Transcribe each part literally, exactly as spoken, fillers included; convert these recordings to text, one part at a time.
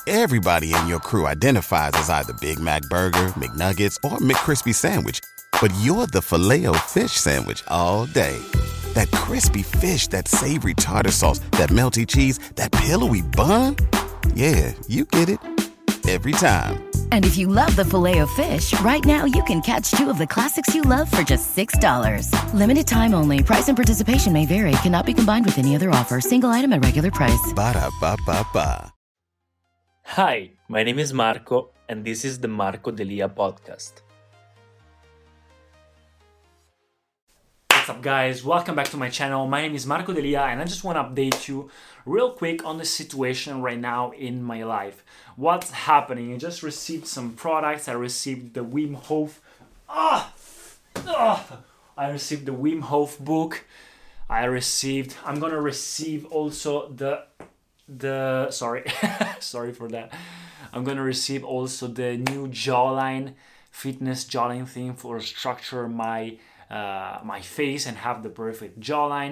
Everybody in your crew identifies as either Big Mac Burger, McNuggets, or McCrispy Sandwich. But you're the Filet-O-Fish Sandwich all day. That crispy fish, that savory tartar sauce, that melty cheese, that pillowy bun. Yeah, you get it. Every time. And if you love the Filet-O-Fish, right now you can catch two of the classics you love for just six dollars. Limited time only. Price and participation may vary. Cannot be combined with any other offer. Single item at regular price. Ba-da-ba-ba-ba. Hi, my name is Marco, and this is the Marco Delia podcast. What's up, guys? Welcome back to my channel. My name is Marco Delia, and I just want to update you real quick on the situation right now in my life. What's happening? I just received some products. I received the Wim Hof. Ah, ah, I received the Wim Hof book. I received. I'm gonna receive also the the. Sorry, sorry for that. I'm gonna receive also the new jawline fitness jawline thing for structure my. Uh, my face and have the perfect jawline.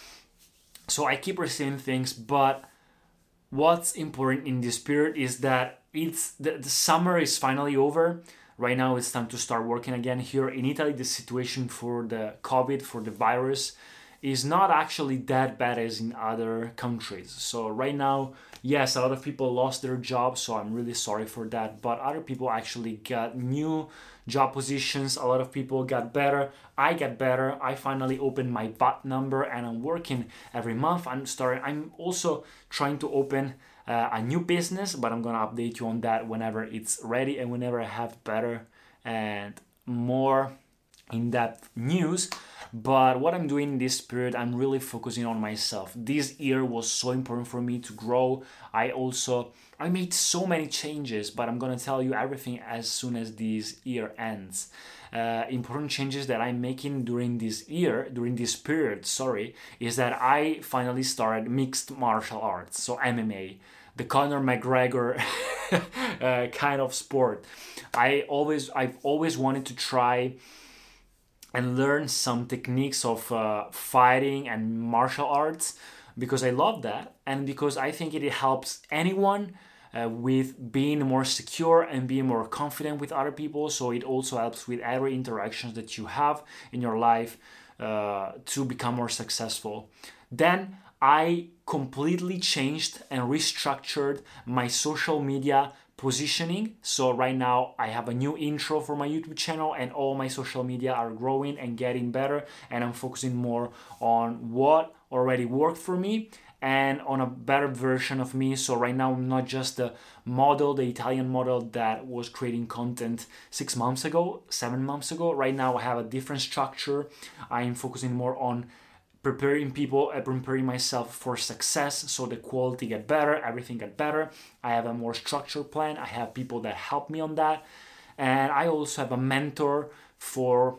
So I keep receiving things, but what's important in this period is that it's the, the summer is finally over. Right now it's time to start working again. Here in Italy, the situation for the COVID, for the virus, is not actually that bad as in other countries. So right now, yes, a lot of people lost their jobs, so I'm really sorry for that. But other people actually got new job positions. A lot of people got better. I got better. I finally opened my V A T number and I'm working every month. I'm starting. I'm also trying to open uh, a new business, but I'm gonna update you on that whenever it's ready and whenever I have better and more in-depth news. But what I'm doing in this period, I'm really focusing on myself. This year was so important for me to grow. I also, I made so many changes, but I'm gonna tell you everything as soon as this year ends. Uh, important changes that I'm making during this year, during this period, sorry, is that I finally started mixed martial arts, so M M A, the Conor McGregor uh, kind of sport. I always, I've always wanted to try and learn some techniques of uh, fighting and martial arts because I love that and because I think it helps anyone uh, with being more secure and being more confident with other people. So it also helps with every interactions that you have in your life uh, to become more successful. Then I completely changed and restructured my social media positioning. So right now I have a new intro for my YouTube channel and all my social media are growing and getting better, and I'm focusing more on what already worked for me and on a better version of me. So right now I'm not just the model, the Italian model that was creating content six months ago, seven months ago. Right now I have a different structure. I'm focusing more on preparing people, uh, preparing myself for success, so the quality get better, everything get better. I have a more structured plan. I have people that help me on that, and I also have a mentor for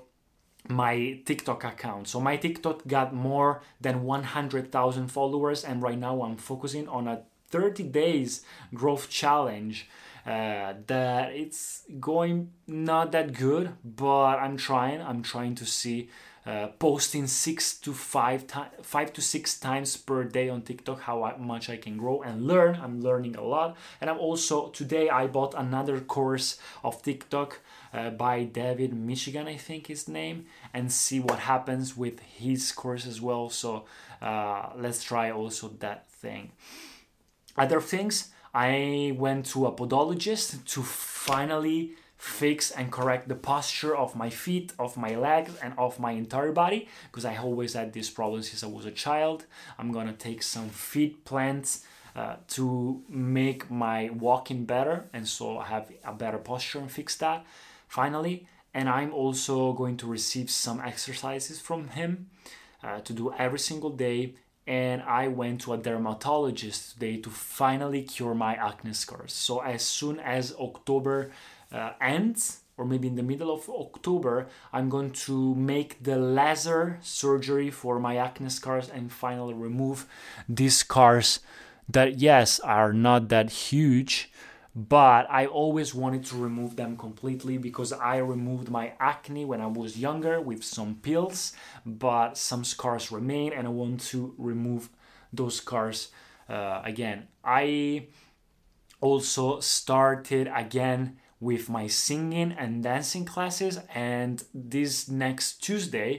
my TikTok account. So my TikTok got more than one hundred thousand followers, and right now I'm focusing on a thirty days growth challenge. Uh, that it's going not that good, but I'm trying. I'm trying to see. Uh, posting six to five times, five to six times per day on TikTok, how I, much I can grow and learn. I'm learning a lot, and I'm also today I bought another course of TikTok uh, by David Michigan, I think his name, and see what happens with his course as well. So uh, let's try also that thing. Other things, I went to a podologist to finally fix and correct the posture of my feet, of my legs, and of my entire body, because I always had these problems since I was a child. I'm gonna take some feet plants uh, to make my walking better, and so I have a better posture and fix that finally. And I'm also going to receive some exercises from him uh, to do every single day. And I went to a dermatologist today to finally cure my acne scars. So as soon as October uh, ends, or maybe in the middle of October, I'm going to make the laser surgery for my acne scars and finally remove these scars that, yes, are not that huge, but I always wanted to remove them completely because I removed my acne when I was younger with some pills, but some scars remain and I want to remove those scars uh, again. I also started again with my singing and dancing classes, and this next Tuesday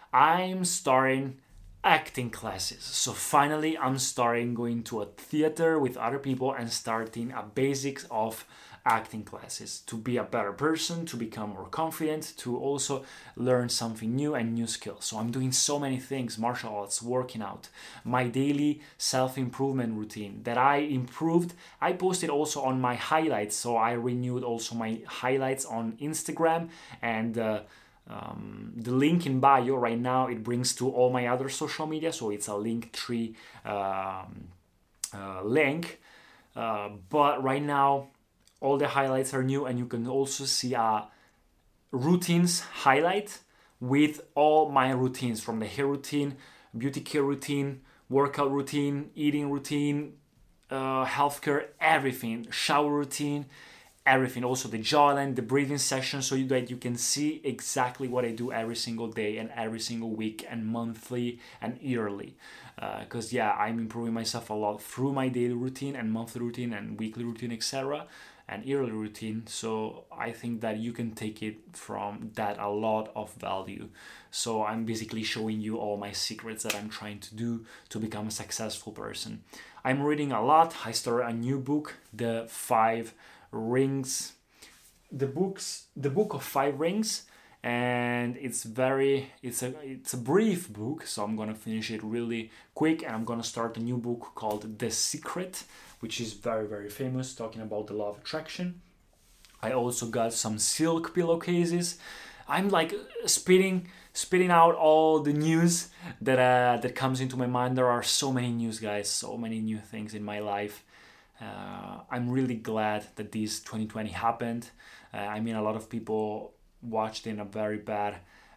I'm starting acting classes. So finally I'm starting going to a theater with other people and starting a basics of acting classes to be a better person, to become more confident, to also learn something new and new skills. So I'm doing so many things: martial arts, working out, my daily self-improvement routine that I improved. I posted also on my highlights, so I renewed also my highlights on Instagram, and uh, Um, the link in bio right now, it brings to all my other social media, so it's a Linktree um, uh, link. Uh, but right now, all the highlights are new, and you can also see a routines highlight with all my routines, from the hair routine, beauty care routine, workout routine, eating routine, uh, healthcare, everything, shower routine, everything. Also the jawline, the breathing session, so that you can see exactly what I do every single day and every single week and monthly and yearly. Because uh, yeah, I'm improving myself a lot through my daily routine and monthly routine and weekly routine, et cetera, and yearly routine. So I think that you can take it from that a lot of value. So I'm basically showing you all my secrets that I'm trying to do to become a successful person. I'm reading a lot. I started a new book, The Five Rings, the books, the book of five rings, and it's very, it's a, it's a brief book, so I'm gonna finish it really quick, and I'm gonna start a new book called The Secret, which is very, very famous, talking about the law of attraction. I also got some silk pillowcases. I'm like spitting, spitting out all the news that uh, that comes into my mind. There are so many news, guys, so many new things in my life. Uh, I'm really glad that this twenty twenty happened. Uh, I mean, a lot of people watched in a very bad,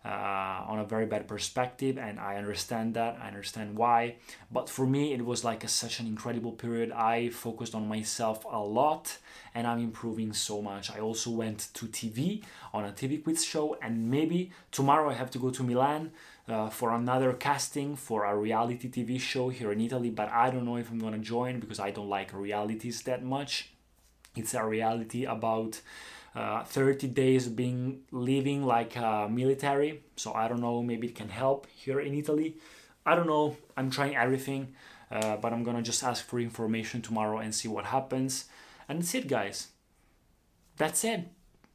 uh, on a very bad perspective, and I understand that. I understand why. But for me, it was like a, such an incredible period. I focused on myself a lot, and I'm improving so much. I also went to T V on a T V quiz show, and maybe tomorrow I have to go to Milan Uh, for another casting for a reality T V show here in Italy, but I don't know if I'm gonna join because I don't like realities that much. It's a reality about uh, thirty days being living like a military, so I don't know, maybe it can help here in Italy. I don't know, I'm trying everything, uh, but I'm gonna just ask for information tomorrow and see what happens. And that's it, guys. That's it.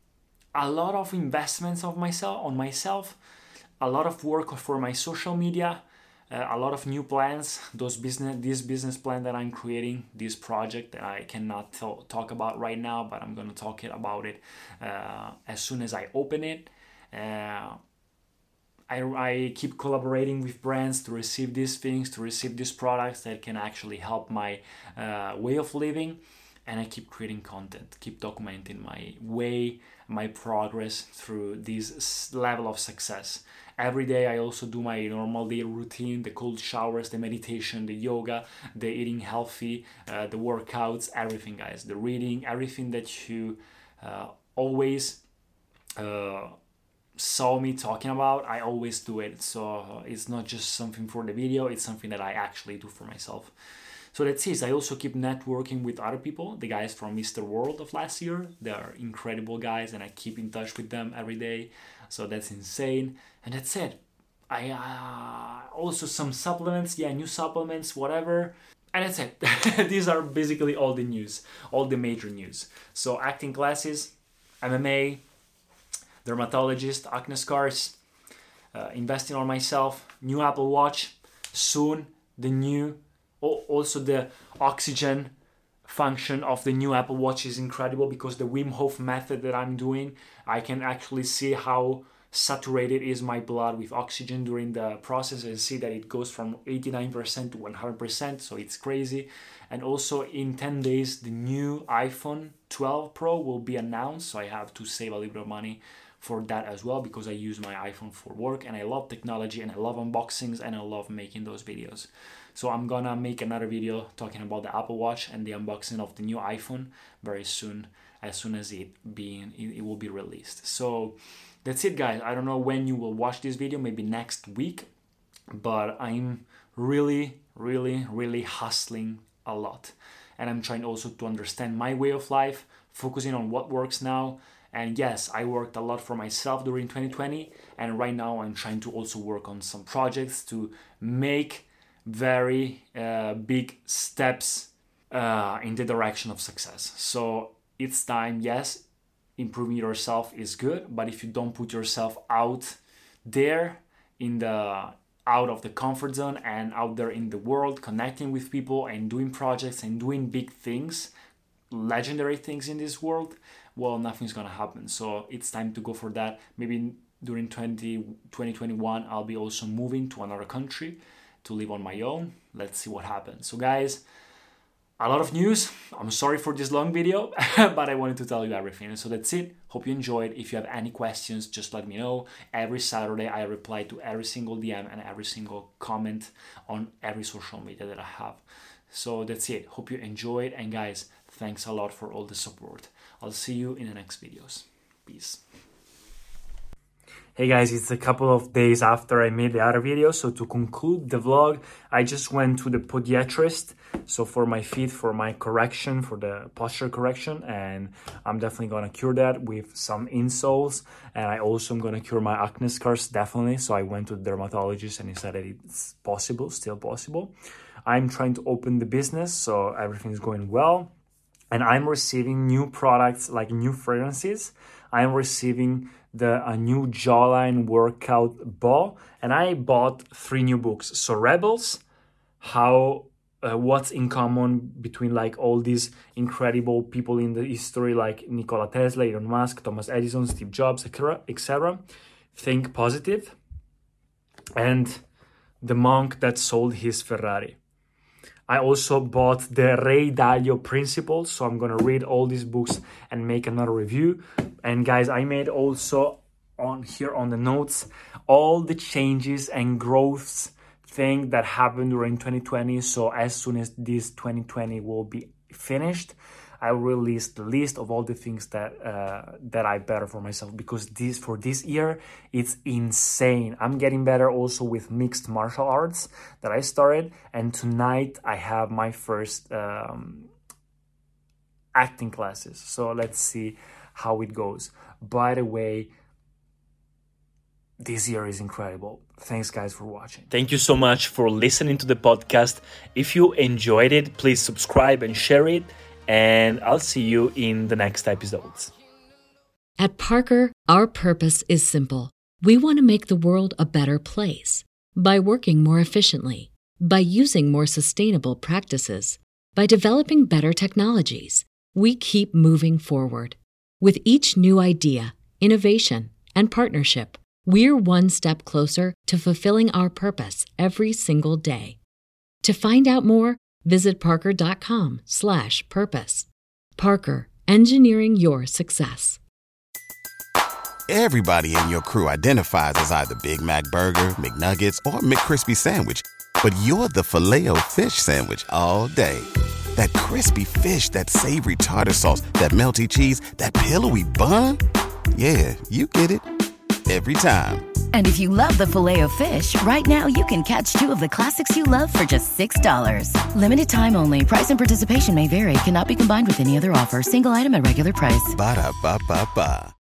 A lot of investments of myself on myself, a lot of work for my social media, uh, a lot of new plans, those business, this business plan that I'm creating, this project that I cannot t- talk about right now, but I'm going to talk it about it uh, as soon as I open it. Uh, I, I keep collaborating with brands to receive these things, to receive these products that can actually help my uh, way of living. And I keep creating content, keep documenting my way, my progress through this level of success. Every day I also do my normal day routine, the cold showers, the meditation, the yoga, the eating healthy, uh, the workouts, everything, guys. The reading, everything that you uh, always uh, saw me talking about, I always do it. So uh, it's not just something for the video, it's something that I actually do for myself. So that's it. I also keep networking with other people, the guys from Mister World of last year. They are incredible guys, and I keep in touch with them every day. So that's insane. And that's it. I uh, also some supplements, yeah, new supplements, whatever. And that's it. These are basically all the news, all the major news. So acting classes, M M A, dermatologist, acne scars, uh, investing on myself, new Apple Watch, soon the new. Also, the oxygen function of the new Apple Watch is incredible because the Wim Hof method that I'm doing, I can actually see how saturated is my blood with oxygen during the process, and see that it goes from eighty-nine percent to one hundred percent, so it's crazy. And also in ten days, the new iPhone twelve Pro will be announced, so I have to save a little bit of money for that as well, because I use my iPhone for work, and I love technology, and I love unboxings, and I love making those videos. So I'm gonna make another video talking about the Apple Watch and the unboxing of the new iPhone very soon, as soon as it being it will be released. So that's it, guys. I don't know when you will watch this video, maybe next week, but I'm really, really, really hustling a lot. and I'm trying also to understand my way of life, focusing on what works now. And yes, I worked a lot for myself during twenty twenty, and right now I'm trying to also work on some projects to make very uh, big steps uh, in the direction of success. So it's time, yes, improving yourself is good, but if you don't put yourself out there in the out of the comfort zone and out there in the world, connecting with people and doing projects and doing big things, legendary things in this world, well, nothing's gonna happen. So it's time to go for that. Maybe during twenty twenty-one, I'll be also moving to another country to live on my own. Let's see what happens. So guys, a lot of news. I'm sorry for this long video, but I wanted to tell you everything. So that's it. Hope you enjoyed. If you have any questions, just let me know. Every Saturday, I reply to every single D M and every single comment on every social media that I have. So that's it. Hope you enjoyed. And guys, thanks a lot for all the support. I'll see you in the next videos. Peace. Hey guys, it's a couple of days after I made the other video. So to conclude the vlog, I just went to the podiatrist. So for my feet, for my correction, for the posture correction, and I'm definitely gonna cure that with some insoles. And I also am gonna cure my acne scars, definitely. So I went to the dermatologist and he said that it's possible, still possible. I'm trying to open the business, so everything's going well. And I'm receiving new products, like new fragrances. I'm receiving the a new jawline workout ball, and I bought three new books. So Rebels, how uh, what's in common between like all these incredible people in the history, like Nikola Tesla, Elon Musk, Thomas Edison, Steve Jobs, et cetera. Think Positive, and The Monk That Sold His Ferrari. I also bought the Ray Dalio Principles, so I'm gonna read all these books and make another review. And guys, I made also on here on the notes all the changes and growths thing that happened during twenty twenty. So as soon as this twenty twenty will be finished, I will release the list of all the things that uh, that I better for myself, because this for this year it's insane. I'm getting better also with mixed martial arts that I started, and tonight I have my first um, acting classes. So let's see how it goes. By the way, this year is incredible. Thanks guys for watching. Thank you so much for listening to the podcast. If you enjoyed it, please subscribe and share it. And I'll see you in the next episodes. At Parker, our purpose is simple. We want to make the world a better place by working more efficiently, by using more sustainable practices, by developing better technologies. We keep moving forward. With each new idea, innovation, and partnership, we're one step closer to fulfilling our purpose every single day. To find out more, visit parker.com slash purpose. Parker, engineering your success. Everybody in your crew identifies as either Big Mac Burger, McNuggets, or McCrispy Sandwich. But you're the Filet-O-Fish Sandwich all day. That crispy fish, that savory tartar sauce, that melty cheese, that pillowy bun. Yeah, you get it. Every time. And if you love the Filet-O-Fish, right now you can catch two of the classics you love for just six dollars. Limited time only. Price and participation may vary. Cannot be combined with any other offer. Single item at regular price. Ba-da-ba-ba-ba.